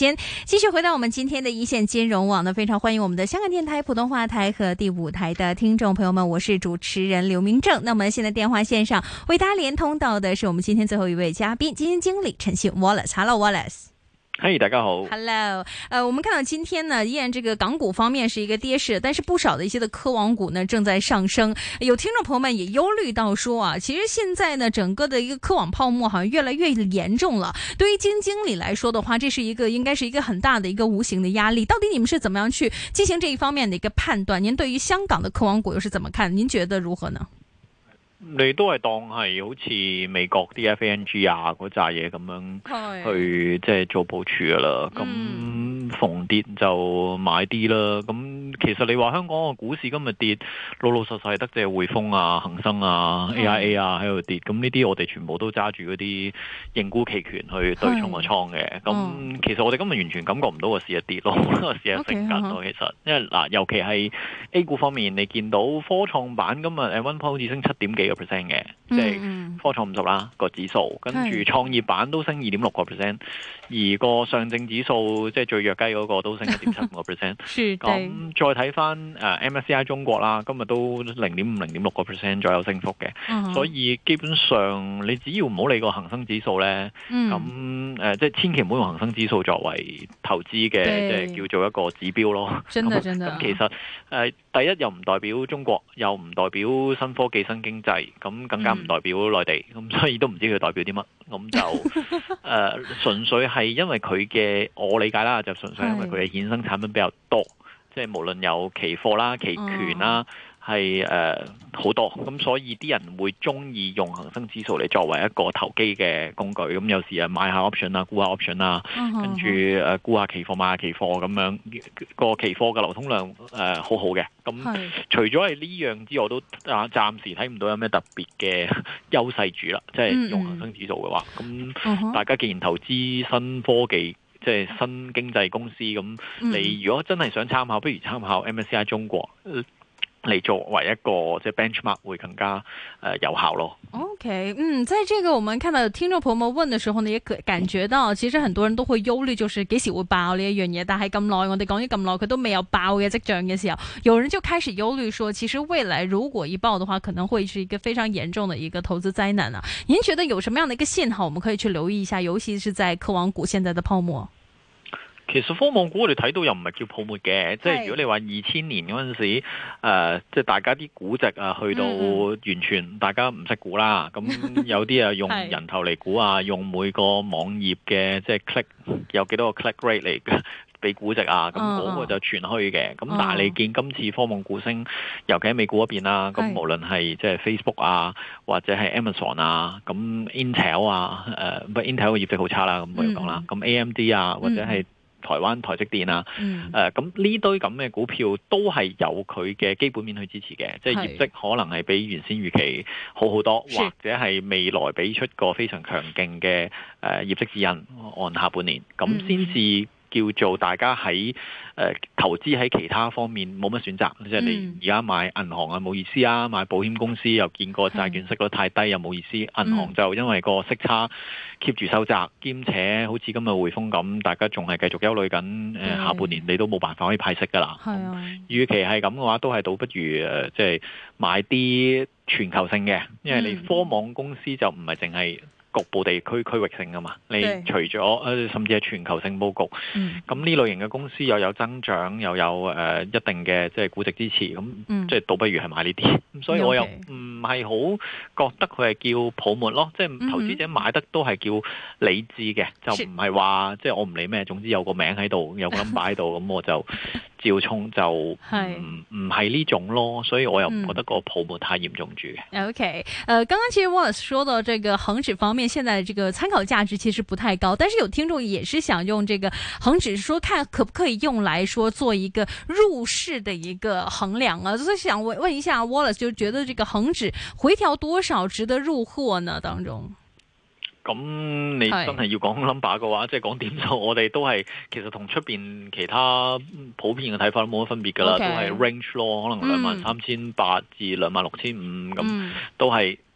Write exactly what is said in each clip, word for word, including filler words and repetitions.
間，繼續回到我們今天的一線金融網呢，非常歡迎我們的香港電台普通話台和第五台的聽眾朋友們，我是主持人劉明正。那麼現在電話線上為大家連通到的是我們今天最後一位嘉賓，基金經理陳昕 Wallace。Hello Wallace。 嘿、hey, 大家好 Hello， 呃，我們看到今天呢，依然這個港股方面是一個跌勢，但是不少的一些的科網股呢正在上升。有聽眾朋友們也憂慮到說啊，其實現在呢，整個的一個科網泡沫好像越來越嚴重了。對於基金經理來說的話，這是一個應該是一個很大的一個無形的壓力。到底你們是怎麼樣去進行這一方面的一個判斷？您對於香港的科網股又是怎麼看？您覺得如何呢？ 你都係當係好似美國啲 F A N G 啊嗰扎嘢咁樣去即係做部署噶啦，咁、嗯、逢跌就買啲啦。咁其實你話香港個股市今日跌，老老實實得隻匯豐啊、恒生啊、A I A 啊喺度跌，咁呢啲我哋全部都揸住嗰啲認沽期權去對沖個倉嘅。咁、嗯、其實我哋今日完全感覺唔到個市一跌咯，個市係升緊咯。其實因為嗱，尤其係 A 股方面，你見到科創板今日誒溫好似升七點幾percent 嘅，即係科創五十啦個指數，跟住創業板都升二點六個 percent， 而個上證指數即係最弱雞嗰個都升一點七五個 percent。咁再睇翻誒 M S C I 中國啦，今日都零點五、零點六個 percent 左右升幅嘅，嗯，所以基本上你只要唔好理個恒生指數咧，咁、嗯、誒、呃、即係千祈唔好用恒生指數作為投資嘅，即係叫做一個指標咯。真的真的。咁其實誒、呃、第一又唔代表中國，又唔代表新科技、新經濟。咁更加唔代表內地，咁、嗯、所以都唔知佢代表啲乜，咁就誒、呃、純粹係因為佢嘅，我理解啦，就純粹因為佢嘅衍生產品比較多，即係無論有期貨啦、期權啦。嗯係誒好多，咁所以啲人會中意用恒生指數嚟作為一個投機嘅工具，咁有時啊買下 option 啊，沽下 option 啊，跟住誒沽下期貨買下期貨咁樣，個期貨嘅流通量誒、呃、好好嘅。咁除咗係呢樣之外，我都啊暫時睇唔到有咩特別嘅優勢住啦，即係用恒生指數嘅話，咁大家既然投資新科技。即係新經濟公司咁，你如果真係想參考，不如參考 M S C I 中國嚟作為一個即係 benchmark 會更加誒、呃、有效咯。 OK， 嗯，在這個我們看到聽眾朋友們問的時候呢，也可感覺到其實很多人都會憂慮，就是幾時會爆呢一樣嘢。但係咁耐，我哋講咗咁耐，佢都未有爆嘅跡象嘅時候，有人就開始憂慮說，其實未來如果一爆的話，可能會是一個非常嚴重的一個投資災難啊。您覺得有什麼樣的一個信號，我們可以去留意一下，尤其是在科網股現在的泡沫？ 其實科網股我哋睇到又唔係叫泡沫嘅，即係如果你話二千年嗰陣時，誒、呃，即係大家啲估值啊，去到完全大家唔識估啦。咁、嗯、有啲啊用人頭嚟估啊，用每個網頁嘅即係 click 有幾多個 click rate 嚟俾估值啊，咁嗰個就全虛嘅。咁、uh, 但係你見今次科網股升，尤其喺美股嗰邊啦，咁無論係即係 Facebook 啊，或者係 Amazon 啊，咁 Intel 啊，誒、呃，不 Intel 嘅業績好差啦，咁我要講啦。咁 A M D 啊，或者係台灣台積電啊，誒咁呢堆咁嘅股票都係有佢嘅基本面去支持嘅，即係業績可能係比原先預期好好多，或者係未來俾出個非常強勁嘅誒業績指引按下半年，咁先至叫做大家喺誒、呃、投資喺其他方面冇乜選擇，即係你而家買銀行啊冇意思啊，買保險公司又見過債券息率太低又冇意思，銀行就因為個息差 keep 住收窄，兼且好似今日匯豐咁，大家仲係繼續憂慮緊誒下半年你都冇辦法可以派息㗎啦。與其係咁嘅話，都係倒不如誒即係買啲全球性嘅，因為你科網公司就唔係淨係局部地區區域性㗎嘛，你除咗誒甚至係全球性佈局，咁、嗯、呢類型嘅公司又有增長，又有誒、呃、一定嘅即係估值支持，咁、嗯、即係倒不如係買呢啲，咁所以我又唔係好覺得佢係叫泡沫咯，即係投資者買得都係叫理智嘅、嗯，就唔係話即係我唔理咩，總之有個名喺度，有個 number 喺度，咁我就照衝就唔唔係呢種咯，所以我又唔覺得個泡沫太嚴重住嘅、 嗯。OK， 呃，剛剛其實 Wallace 說到這個恒指方面，現在這個參考價值其實不太高，但是有聽眾也是想用這個恒指說看可不可以用來說做一個入市的一個衡量啊，所以想問問一下 Wallace， 就覺得這個恒指回調多少值得入貨呢？當中？ 咁你真係要講 number 嘅話，即係講點數，我哋都係其實同出邊其他普遍嘅睇法都冇乜分別㗎啦， okay. 都係 range 咯，可能兩萬三千八至兩萬六千五咁，都係。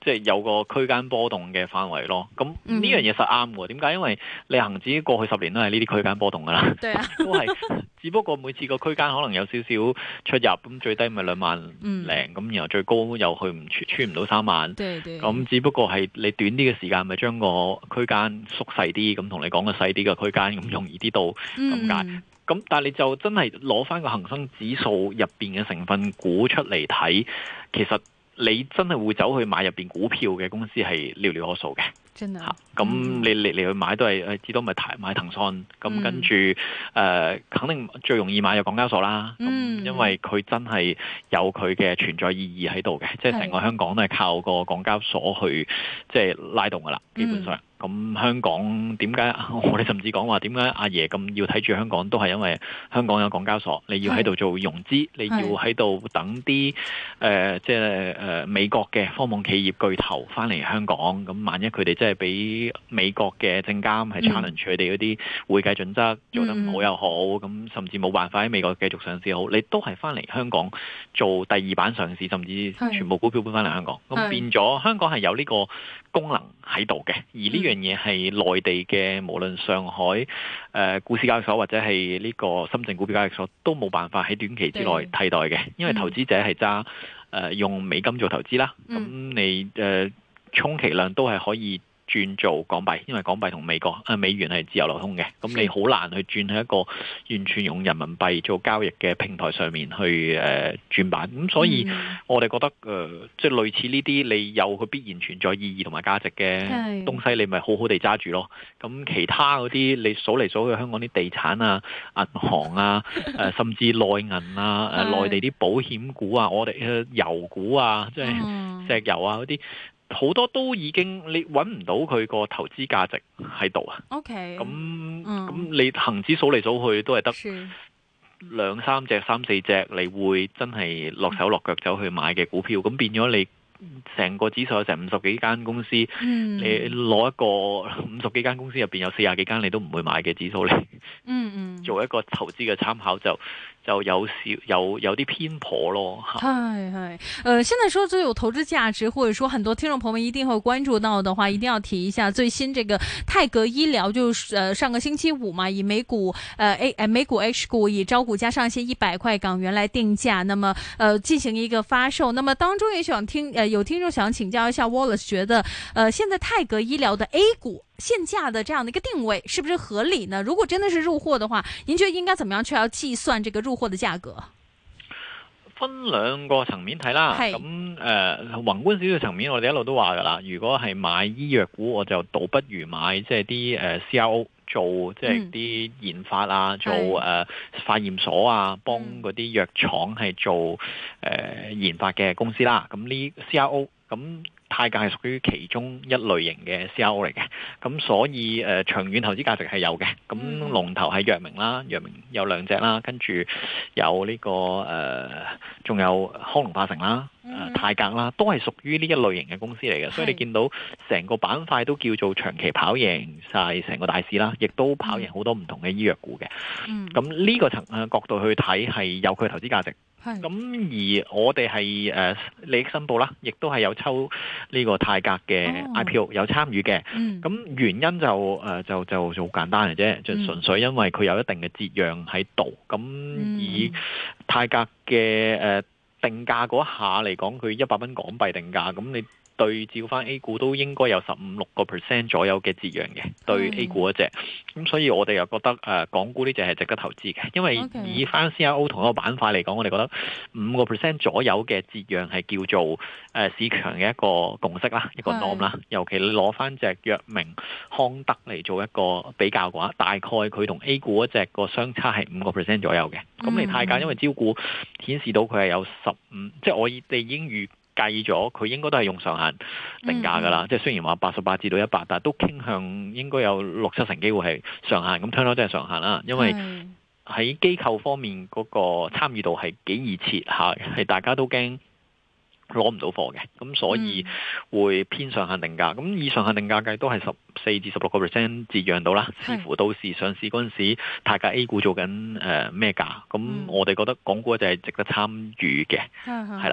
即係有個區間波動嘅範圍咯。咁呢樣嘢實啱喎。點解？因為你恒指過去十年都係呢啲區間波動噶啦， 對啊、 都係。只不過每次個區間可能有少少出入，咁最低咪兩萬零，咁、嗯、然後最高又去唔穿唔到三萬。咁只不過係你短啲嘅時間，咪將個區間縮細啲，咁同你講個細啲嘅區間，咁容易啲到咁解。咁、嗯、但係你就真係攞翻個恒生指數入邊嘅成分股出嚟睇，其實你真係會走去買入邊股票嘅公司係寥寥可數嘅。 真係， 咁、嗯、你嚟嚟去買都係誒，至多咪買騰訊，咁、嗯、跟住誒、呃，肯定最容易買就港交所啦。咁、嗯、因為佢真係有佢嘅存在意義喺度嘅，即係成個香港都係靠個港交所去即係、就是、拉動噶啦，基本上。嗯咁香港點解我哋甚至講話點解阿爺咁要睇住香港，都係因為香港有港交所，你要喺度做融資，你要喺度等啲誒即係誒美國嘅科網企業巨頭翻嚟香港。咁萬一佢哋真係俾美國嘅證監係 challenge 佢哋嗰啲會計準則做得唔好又好，咁甚至冇辦法喺美國繼續上市好，你都係翻嚟香港做第二板上市，甚至全部股票搬翻嚟香港。咁變咗香港係有呢個功能喺度嘅，而呢樣嘢係內地嘅，無論上海誒、呃、股市交易所或者係呢個深圳股票交易所都冇辦法喺短期之內替代嘅，因為投資者係揸誒用美金做投資啦，咁、嗯、你誒、呃、充其量都係可以轉做港幣，因為港幣同美國啊美元係自由流通嘅，咁你好難去轉喺一個完全用人民幣做交易嘅平台上面去誒、呃、轉板，咁所以我哋覺得誒、呃、即係類似呢啲你有佢必然存在意義同埋價值嘅東西，你咪好好地揸住咯。咁其他嗰啲你數嚟數去，香港啲地產啊、銀行啊、誒、呃、甚至內銀啊、誒、呃、內地啲保險股啊、我哋嘅油股啊，即係石油啊嗰啲。好多都已經你揾唔到佢個投資價值喺度啊。OK，咁咁、嗯、你恒指數嚟數去都係得兩三隻、三四隻，你會真係落手落腳走去買嘅股票，咁變咗你成個指數有成五十幾間公司，嗯、你攞一個五十幾間公司入邊有四十幾間你都唔會買嘅指數嚟，嗯嗯，做一個投資嘅參考就。就有少有有啲偏頗咯， 係係，呃，現在說最有投資價值，或者說很多聽眾朋友們一定會關注到的話，一定要提一下最新這個泰格醫療，就是呃上個星期五嘛，以美股呃 A 呃美股 H 股以招股價上限一百塊港元來定價，那麼呃進行一個發售。那麼當中也想聽呃有聽眾想請教一下 Wallace，覺得呃現在泰格醫療的 A 股現價的這樣的一個定位是不是合理呢？如果真的是入貨的話，您覺得應該怎麼樣去要計算這個入貨的價格？ 分兩個層面睇啦，咁誒、呃、宏觀少少層面，我哋一路都話噶啦，如果係買醫藥股，我就倒不如買即係啲誒 C R O 做即係啲研發啊，嗯、做誒、呃、化驗所啊，幫嗰啲藥廠係做誒、呃、研發嘅公司啦。咁呢 C R O 咁。泰格係屬於其中一類型嘅 C R O 嚟嘅，咁所以誒、呃、長遠投資價值係有嘅。咁龍頭係藥明啦，藥明有兩隻啦，跟住有呢、這個誒，仲、呃、有康龍化成啦、呃，泰格啦，都係屬於呢一類型嘅公司嚟嘅。所以你見到成個板塊都叫做長期跑贏晒成個大市啦，亦都跑贏好多唔同嘅醫藥股嘅。咁呢個層誒角度去睇係有佢投資價值。咁而我哋係誒利益申報啦，亦都係有抽呢個泰格嘅 I P O、oh. 有參與嘅。咁、嗯、原因就誒、呃、就就就好簡單嘅啫，就純粹因為佢有一定嘅折讓喺度。咁、嗯、以泰格嘅誒、呃、定價嗰下嚟講，佢一百蚊港幣定價，咁你對照翻 A 股都應該有十五六個 percent 左右嘅折讓嘅，對 A 股嗰隻，咁所以我哋又覺得誒、呃、港股呢隻係值得投資嘅，因為以翻 C R O 同一個板塊嚟講，我哋覺得五個 percent 左右嘅折讓係叫做誒、呃、市場嘅一個共識啦，一個 norm 啦。尤其你攞翻隻藥明康德嚟做一個比較嘅話，大概佢同 A 股嗰隻個相差係五個 percent 左右嘅。咁你泰格因為招股顯示到佢係有十五，即係我哋已經預計咗佢應該都係用上限定價㗎啦，即、嗯、係雖然話八十八至到一百，但係都傾向應該有六七成機會係上限。咁聽落真係上限啦，因為喺機構方面嗰個參與度係幾易切下嘅，係大家都驚攞唔到貨嘅，咁所以會偏上限定價。咁以上限定價計都係十四至十六個 percent 折讓到啦，視乎到時上市嗰陣時，泰格 A 股做緊誒咩價。咁、呃、我哋覺得港股就係值得參與嘅，係啦。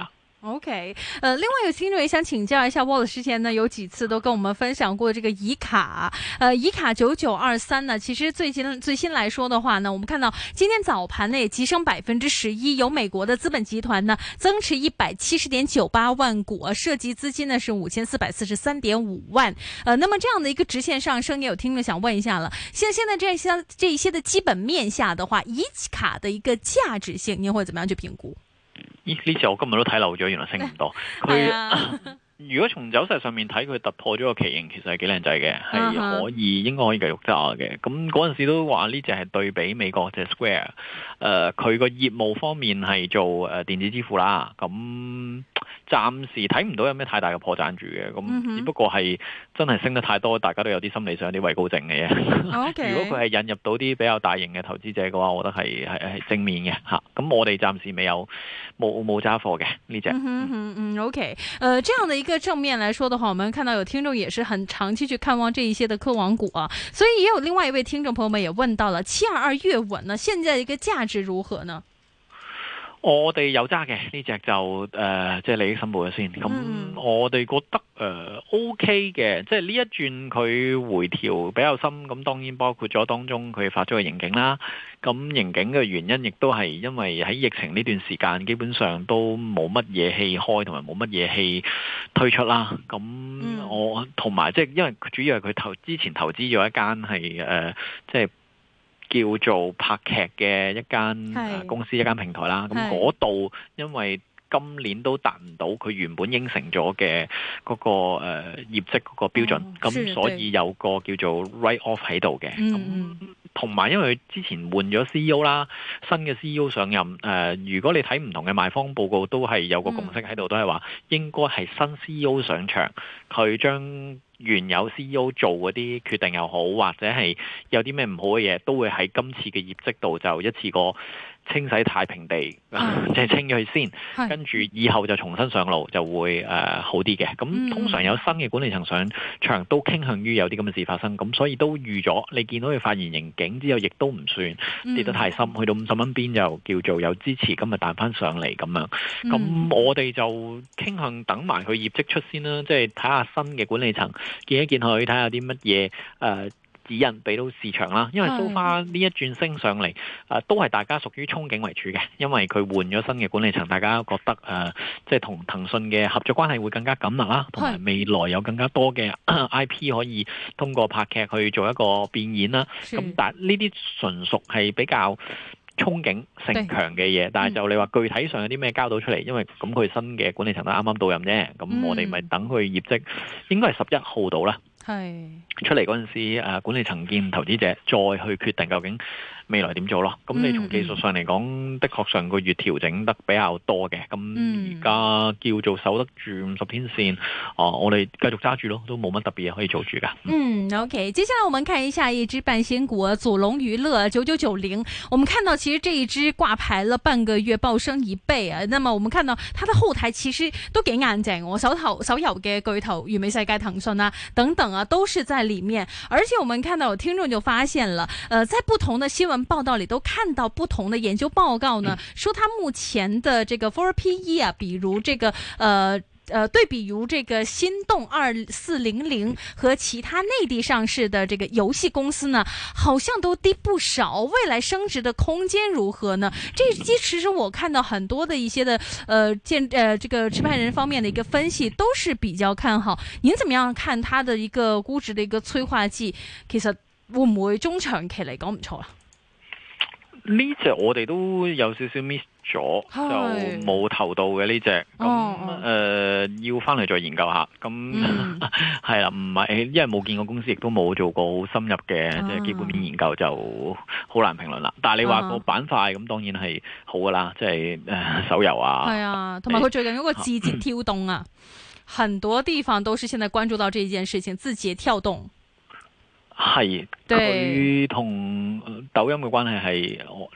OK，呃，另外有聽眾也想請教一下 Wallace，之前呢有幾次都跟我們分享過這個以卡，呃，以卡九九二三呢，其實最近最新來說的話呢，我們看到今天早盤呢也急升百分之十一，由美國的資本集團呢增持一百七十點九八萬股，涉及資金呢是五千四百四十三點五萬，呃，那麼這樣的一個直線上升，也有聽眾想問一下了，現在現在這些這一些的基本面下的話，以卡的一個價值性，您會怎麼樣去評估？ 呢呢隻我今日都睇漏咗，原來升唔多。佢、啊、如果從走勢上面睇，佢突破咗個旗形，其實係幾靚仔嘅，係可以應該可以繼續揸嘅。咁嗰陣時都話呢隻係對比美國隻 Square，誒佢個業務方面係做誒電子支付啦。咁暫時睇唔到有咩太大嘅破綻住嘅，咁只不過係真係升得太多，大家都有啲心理上有啲畏高症嘅嘢。Okay. 如果佢係引入到啲比較大型嘅投資者嘅話，我覺得係係係正面嘅嚇。咁我哋暫時未有冇冇揸貨嘅呢隻。 嗯嗯嗯 OK，呃，這樣的一個正面來說的話，我們看到有聽眾也是很長期去看望這一些的科網股啊，所以也有另外一位聽眾朋友們也問到了七二二粵文呢，現在的一個價值如何呢？ 我哋有揸嘅呢隻就誒，即、呃、係、就是、利益申報咗先。咁、嗯、我哋覺得誒、呃、OK 嘅，即係呢一轉佢回調比較深。咁當然包括咗當中佢發咗個盈警啦。咁盈警嘅原因亦都係因為喺疫情呢段時間，基本上都冇乜嘢戲開，同埋冇乜嘢戲推出啦。咁我同埋即係因為主要係佢投之前投資咗一間係誒，即、呃、係。就是叫做拍劇嘅一間公司，一間平台啦。咁嗰度因為今年都達唔到佢原本應承咗嘅嗰個誒、呃、業績嗰個標準，咁、哦、所以有個叫做 write off 喺度嘅。咁同埋因為佢之前換咗 C E O 啦，新嘅 C E O 上任，誒、呃，如果你睇唔同嘅賣方報告，都係有個共識喺度，都係話應該係新 C E O 上場，佢將原有 C E O 做嗰啲決定又好，或者係有啲咩唔好嘅嘢，都會喺今次嘅業績度就一次過清洗太平地，即、嗯、係清咗佢先，跟住以後就重新上路就會誒、呃、好啲嘅。咁通常有新嘅管理層上場，都傾向於有啲咁嘅事發生，咁所以都預咗。你見到佢發現盈警之後，亦都唔算跌得太深，嗯、去到五十蚊邊就叫做有支持，今日彈翻上嚟咁樣。咁、嗯、我哋就傾向等埋佢業績出先啦，即係睇下新嘅管理層見一見佢，睇下啲乜嘢誒。呃指引俾到市場啦，因為 so far 呢一轉升上嚟，誒、呃、都係大家屬於憧憬為主嘅，因為佢換咗新嘅管理層，大家覺得誒即係同騰訊嘅合作關係會更加緊密啦，同埋未來有更加多嘅 I P 可以通過拍劇去做一個變現啦。咁但係呢啲純屬係比較憧憬性強嘅嘢，但係就你話具體上有啲咩交到出嚟，因為咁佢新嘅管理層都啱啱到任啫，咁、嗯、我哋咪等佢業績應該係十一號到啦。係出嚟嗰陣時，誒管理層見投資者，再去決定究竟未來點做咯。咁你從技術上嚟講、嗯，的確上個月調整得比較多嘅。咁而家叫做守得住五十天線，哦、呃，我哋繼續揸住咯，都冇乜特別嘢可以做住噶。嗯 ，OK， 接下來我們看一下一支半仙股祖龍娛樂九九九零。我們看到其實這一支掛牌了半個月，暴升一倍啊。那麼我們看到它的後台其實都幾硬淨，我手頭手遊嘅巨頭完美世界、騰訊啊等等。啊，都是在裏面，而且我們看到有聽眾就發現了，呃，在不同的新聞報道裏都看到不同的研究報告呢，說它目前的這個 forward P E 啊，比如這個呃。呃，對比如這個心動二四零零和其他內地上市的這個遊戲公司呢，好像都低不少。未來升值的空間如何呢？這其實我看到很多的一些的呃建呃這個持牌人方面的一個分析都是比較看好。您怎麼樣看它的一個估值的一個催化劑？其實會唔會中長期嚟講唔錯啊？ 呢隻我哋都有少少 miss 咗，就冇投到嘅呢隻，咁誒、哦呃、要翻嚟再研究下。咁係啦，唔係因為冇見過公司，亦都冇做過好深入嘅即係基本面研究，就好難評論啦。但係你話個板塊咁，當然係好噶啦，即係誒手遊啊，係啊，同埋佢最近嗰個字節跳動啊，很多地方都是現在關注到這件事情，字節跳動。係佢同抖音嘅關係係，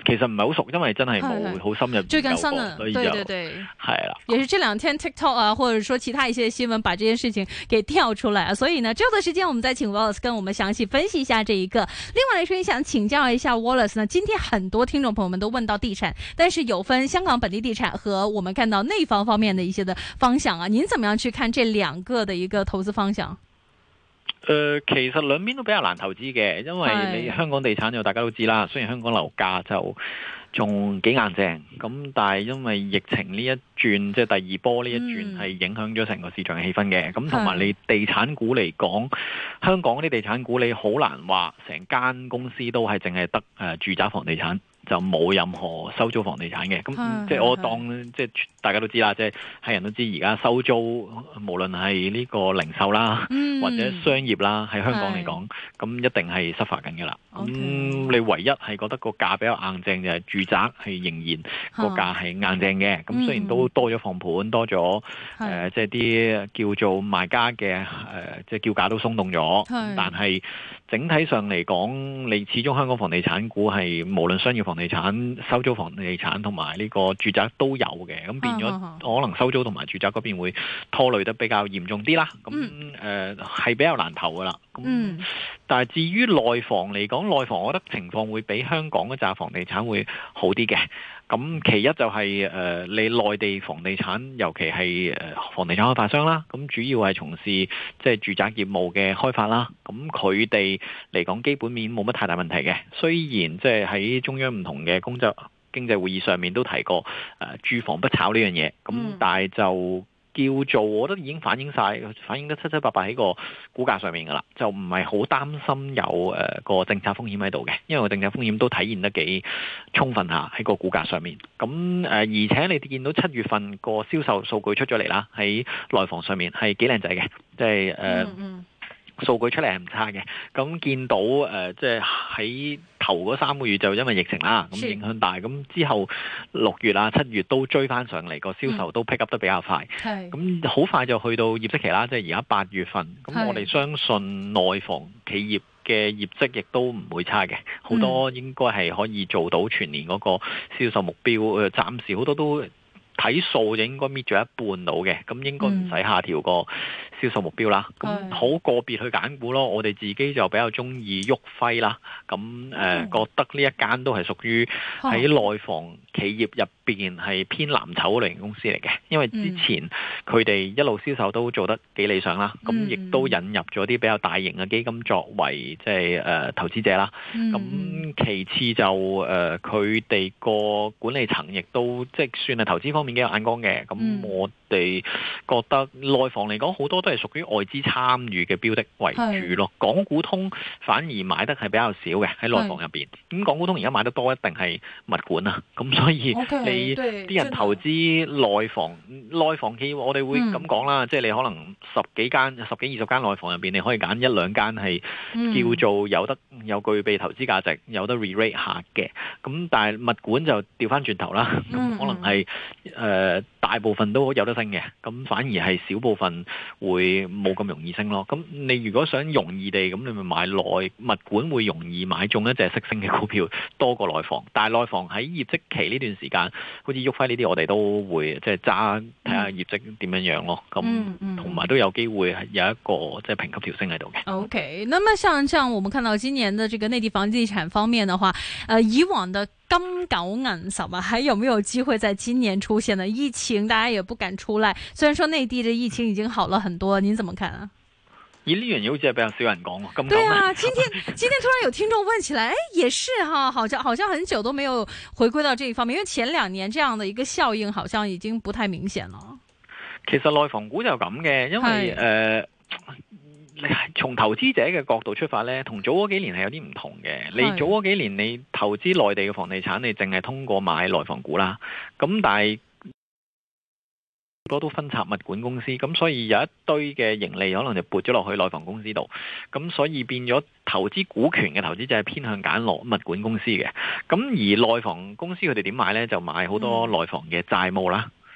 其實唔係好熟，因為真係冇好深入研究過， 最近新啊， 所以就對對對， 係啦。 也是這兩天 TikTok 啊，或者說其他一些新聞，把這件事情給跳出來啊。所以呢，之後的時間我們再請 Wallace 跟我們詳細分析一下這一個。另外來說，也想請教一下 Wallace 呢，今天很多聽眾朋友們都問到地產，但是有分香港本地地產和我們看到內房方面的一些的方向啊。您怎麼樣去看這兩個的一個投資方向？ 誒、呃，其實兩邊都比較難投資嘅，因為你香港地產就大家都知啦，雖然香港樓價就仲幾硬淨，咁但係因為疫情呢一轉，即係第二波呢一轉係影響咗成個市場嘅氣氛嘅，咁同埋你地產股嚟講，香港啲地產股你好難話成間公司都係淨係得誒住宅房地產，就冇任何收租房地產嘅，咁即係我當即係大家都知啦，即係係人都知而家收租，無論係呢個零售啦，嗯、或者商業啦，喺香港嚟講，咁一定係失發緊㗎啦。咁、嗯、你唯一係覺得個價比較硬淨就係住宅係仍然個價係硬淨嘅。咁、嗯、雖然都多咗放盤，多咗誒即係啲叫做賣家嘅誒，即係叫價都鬆動咗，但係整體上嚟講，你始終香港房地產股係無論商業房地產、收租房地產同埋呢個住宅都有嘅，咁變咗可能收租同埋住宅嗰邊會拖累得比較嚴重啲啦。咁誒係比較難投噶啦。咁、嗯、但係至於內房嚟講，內房我覺得情況會比香港嗰紮房地產會好啲嘅。咁其一就係、是、誒、呃、你內地房地產，尤其係誒房地產開發商啦，咁主要係從事即係住宅業務嘅開發啦。咁佢哋嚟講基本面冇乜太大問題嘅。雖然即係喺中央唔同嘅工作經濟會議上面都提過誒、呃、住房不炒呢樣嘢，咁但係就叫做我覺得已經反映晒，反映得七七八八喺個股價上面噶啦，就唔係好擔心有誒、呃、個政策風險喺度嘅，因為個政策風險都體現得幾充分下喺個股價上面。咁誒、呃，而且你見到七月份個銷售數據出咗嚟啦，喺內房上面係幾靚仔嘅，即係誒。呃嗯嗯數據出嚟係唔差嘅，咁見到誒、呃，即係喺頭嗰三個月就因為疫情啦，咁影響大，咁之後六月啊、七月都追翻上嚟，個銷售都 pick up 得比較快，咁好快就去到業績期啦，即係而家八月份，咁我哋相信內房企業嘅業績亦都唔會差嘅，好多應該係可以做到全年嗰個銷售目標，誒、呃，暫時好多都睇數就應該搣咗一半到嘅，咁應該唔使下調個銷售目標啦。咁好、嗯、個別去揀股咯，我哋自己就比較中意旭輝啦。咁誒、呃嗯、覺得呢一間都係屬於喺內房企業入邊係偏藍籌類型公司嚟嘅，因為之前佢哋一路銷售都做得幾理想啦。咁、嗯、亦都引入咗啲比較大型嘅基金作為即係誒投資者啦。咁、嗯、其次就誒佢哋個管理層亦都即係算係投資方面幾有眼光嘅。咁我哋覺得內房嚟講好多都係屬於外資參與嘅標的為主咯。港股通反而買得係比較少嘅喺內房入邊。咁港股通而家買得多一定係物管啊。咁所以你啲人投資內房，內房企業我哋會咁講啦，即係你可能十幾間、十幾二十間內房入邊，你可以揀一兩間係叫做有得有具備投資價值、有得 re-rate 下嘅。咁但係物管就調翻轉頭啦，咁可能係誒、呃、大部分都有得升嘅，咁反而係小部分會冇咁容易升咯。咁你如果想容易地咁，你咪買內物管會容易買中一隻識升嘅股票多過內房。但係內房喺業績期呢段時間，好似旭輝呢啲，我哋都會即係揸睇下業績點樣樣咯。咁同埋都有機會係有一個即係評級調升喺度嘅。 OK，那麼像像我們看到今年的這個內地房地產方面的話，呃，以往的金九銀十啊，還有沒有機會在今年出現呢？疫情大家也不敢出來，雖然說內地的疫情已經好了很多，您怎麼看啊？ 咦，呢樣嘢好似係比較少人講喎。 對啊，今天今天突然有聽眾問起來，誒，也是哈，好像好像很久都沒有回歸到這一方面，因為前兩年這樣的一個效應好像已經不太明顯了。 其實內房股就咁嘅，因為誒。你從投資者嘅角度出發呢，同早嗰幾年係有啲唔同嘅。你早嗰幾年你投資內地嘅房地產，你淨係通過買內房股啦。咁但係好多都分拆物管公司，咁所以有一堆嘅盈利可能就撥咗落去內房公司度。咁所以變咗投資股權嘅投資者係偏向揀落物管公司嘅。咁而內房公司佢哋點買呢？就買好多內房嘅債務啦。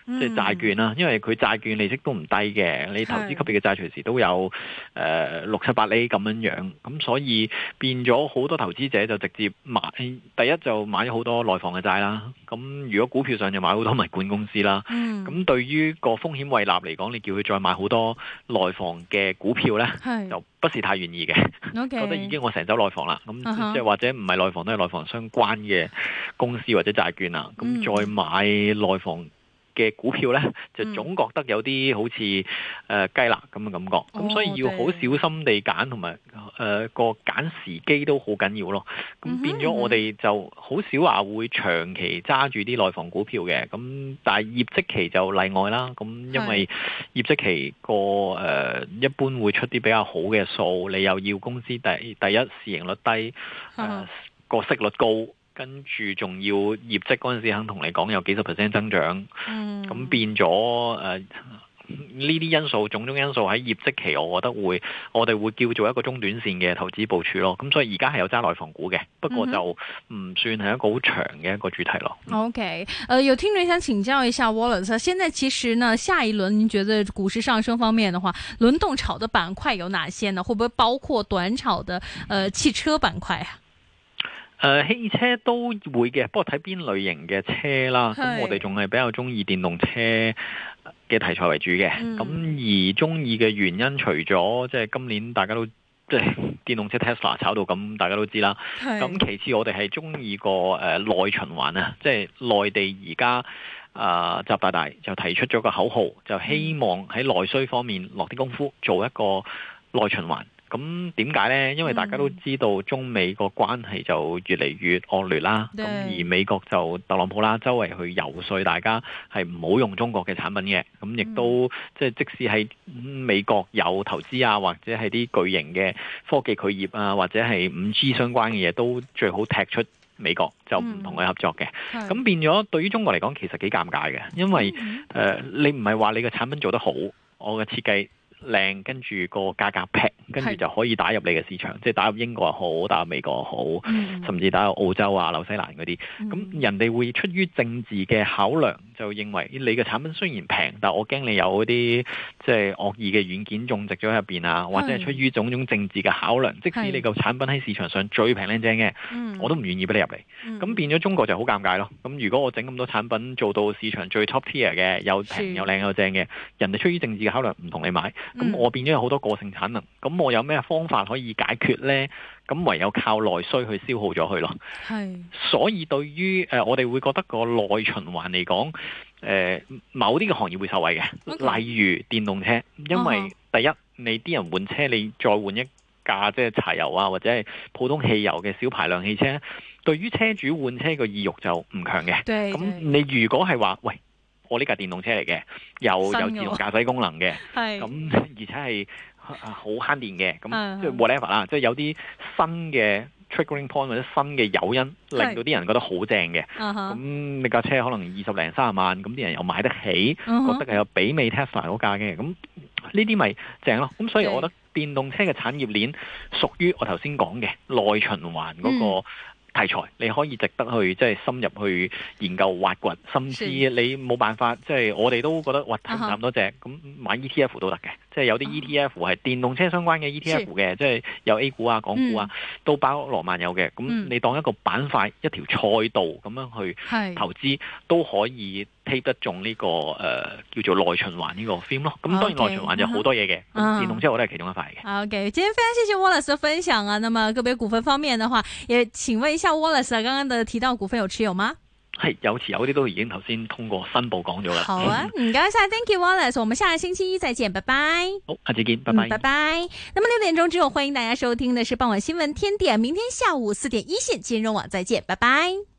即係債券啦，因為佢債券利息都唔低嘅，你投資級別嘅債隨時都有誒六七八厘咁樣樣，咁所以變咗好多投資者就直接買，第一就買咗好多內房嘅債啦，咁如果股票上就買好多物管公司啦，咁、嗯、對於個風險胃納嚟講，你叫佢再買好多內房嘅股票呢，就不是太願意嘅，okay. 覺得已經我成手內房啦，咁即係或者唔係內房都係內房相關嘅公司或者債券啦，咁、嗯、再買內房嘅股票呢，就總覺得有啲好似誒、呃、雞肋咁嘅感覺，咁、哦、所以要好小心地揀，同埋誒個揀時機都好緊要咯。咁變咗我哋就好少話會長期揸住啲內房股票嘅，咁但係業績期就例外啦。咁因為業績期個誒、呃、一般會出啲比較好嘅數，你又要公司第第一市盈率低，誒、呃、個息率高。跟住仲要業績嗰陣時肯同你講有幾十 percent 增長，咁、嗯、變咗誒呢啲因素，種種因素喺業績期，我覺得會我哋會叫做一個中短線嘅投資部署咯。咁所以而家係有揸內房股嘅，不過就唔算係一個好長嘅一個主題咯。 OK，呃，有聽眾想請教一下 Wallace， 現在其實呢下一輪，您覺得股市上升方面的話，輪動炒的板塊有哪些呢？會不會包括短炒的呃汽車板塊啊？ 誒、呃、汽車都會嘅，不過睇邊類型嘅車啦。咁我哋仲係比較中意電動車嘅題材為主嘅。咁、嗯、而中意嘅原因，除咗即係今年大家都即係電動車 Tesla 炒到咁，大家都知啦。咁其次我哋係中意個誒內循環啊，即係內地而家啊習大大就提出咗個口號，就希望喺內需方面落啲功夫，做一個內循環。咁點解呢？因為大家都知道中美個關係就越嚟越惡劣啦。咁而美國就特朗普啦，周圍去游說大家係唔好用中國嘅產品嘅。咁亦都即係即使係美國有投資啊，或者係啲巨型嘅科技企業啊，或者係五 G 相關嘅嘢，都最好踢出美國，就唔同佢合作嘅。咁、嗯、變咗對於中國嚟講，其實幾尷尬嘅，因為誒、嗯呃、你唔係話你嘅產品做得好，我嘅設計靚，跟住個價格平，跟住就可以打入你嘅市場，即係打入英國又好，打入美國又好、嗯，甚至打入澳洲啊、紐西蘭嗰啲。咁、嗯、人哋會出於政治嘅考量，就認為你嘅產品雖然平，但我驚你有嗰啲即係惡意嘅軟件種植咗喺入邊啊，或者係出於種種政治嘅考量，即使你個產品喺市場上最平靚正嘅、嗯，我都唔願意俾你入嚟。咁、嗯、變咗中國就好尷尬咯。咁如果我整咁多產品做到市場最 top tier 嘅，又平又靚又正嘅，人哋出於政治嘅考量唔同你買。咁、嗯、我變咗有好多個性產能，咁我有咩方法可以解決呢？咁唯有靠內需去消耗咗佢咯。係，所以對於誒、呃、我哋會覺得個內循環嚟講，誒、呃、某啲嘅行業會受惠嘅，okay. 例如電動車，因為、uh-huh. 第一你啲人換車，你再換一架即係柴油啊或者係普通汽油嘅小排量汽車，對於車主換車個意欲就唔強嘅。咁你如果係話喂，我呢架電動車嚟嘅，又有自動駕駛功能嘅，咁而且係好慳電嘅，咁即係 whatever 啦，即係有啲新嘅 triggering point 或者新嘅誘因，令到啲人覺得好正嘅。咁你架車可能二十零三十萬，咁啲人又買得起，uh-huh. 覺得係有媲美 Tesla 嗰架嘅，咁呢啲咪正咯。咁所以我覺得電動車嘅產業鏈屬於我頭先講嘅內循環嗰個。嗯題材你可以值得去即係深入去研究挖掘，甚至你冇辦法即係我哋都覺得哇睇唔咁多隻，咁買 E T F 都得嘅，即係有啲 E T F 係電動車相關嘅 E T F 嘅，即係有 A 股啊、港股啊、嗯、都包羅萬有嘅。咁你當一個板塊、一條賽道咁樣去投資，都可以 take 得中呢、這個誒、呃、叫做內循環呢個 theme 咯。咁當然內循環就好多嘢嘅，電動車我都係其中一塊嘅。OK， 今天非常謝謝 Wallace 嘅分享啊。那麼個別股份方面的話，也請問一下 Wallace，剛剛的提到股份有持有嗎？係有持有啲都已經頭先通過申報講咗啦。好啊，唔該晒 ，Thank you Wallace，我們下個星期一再見，拜拜。好，下次見，拜拜，嗯、拜拜。那麼六點鐘之後，歡迎大家收聽的是傍晚新聞天點，明天下午四點一線金融網再見，拜拜。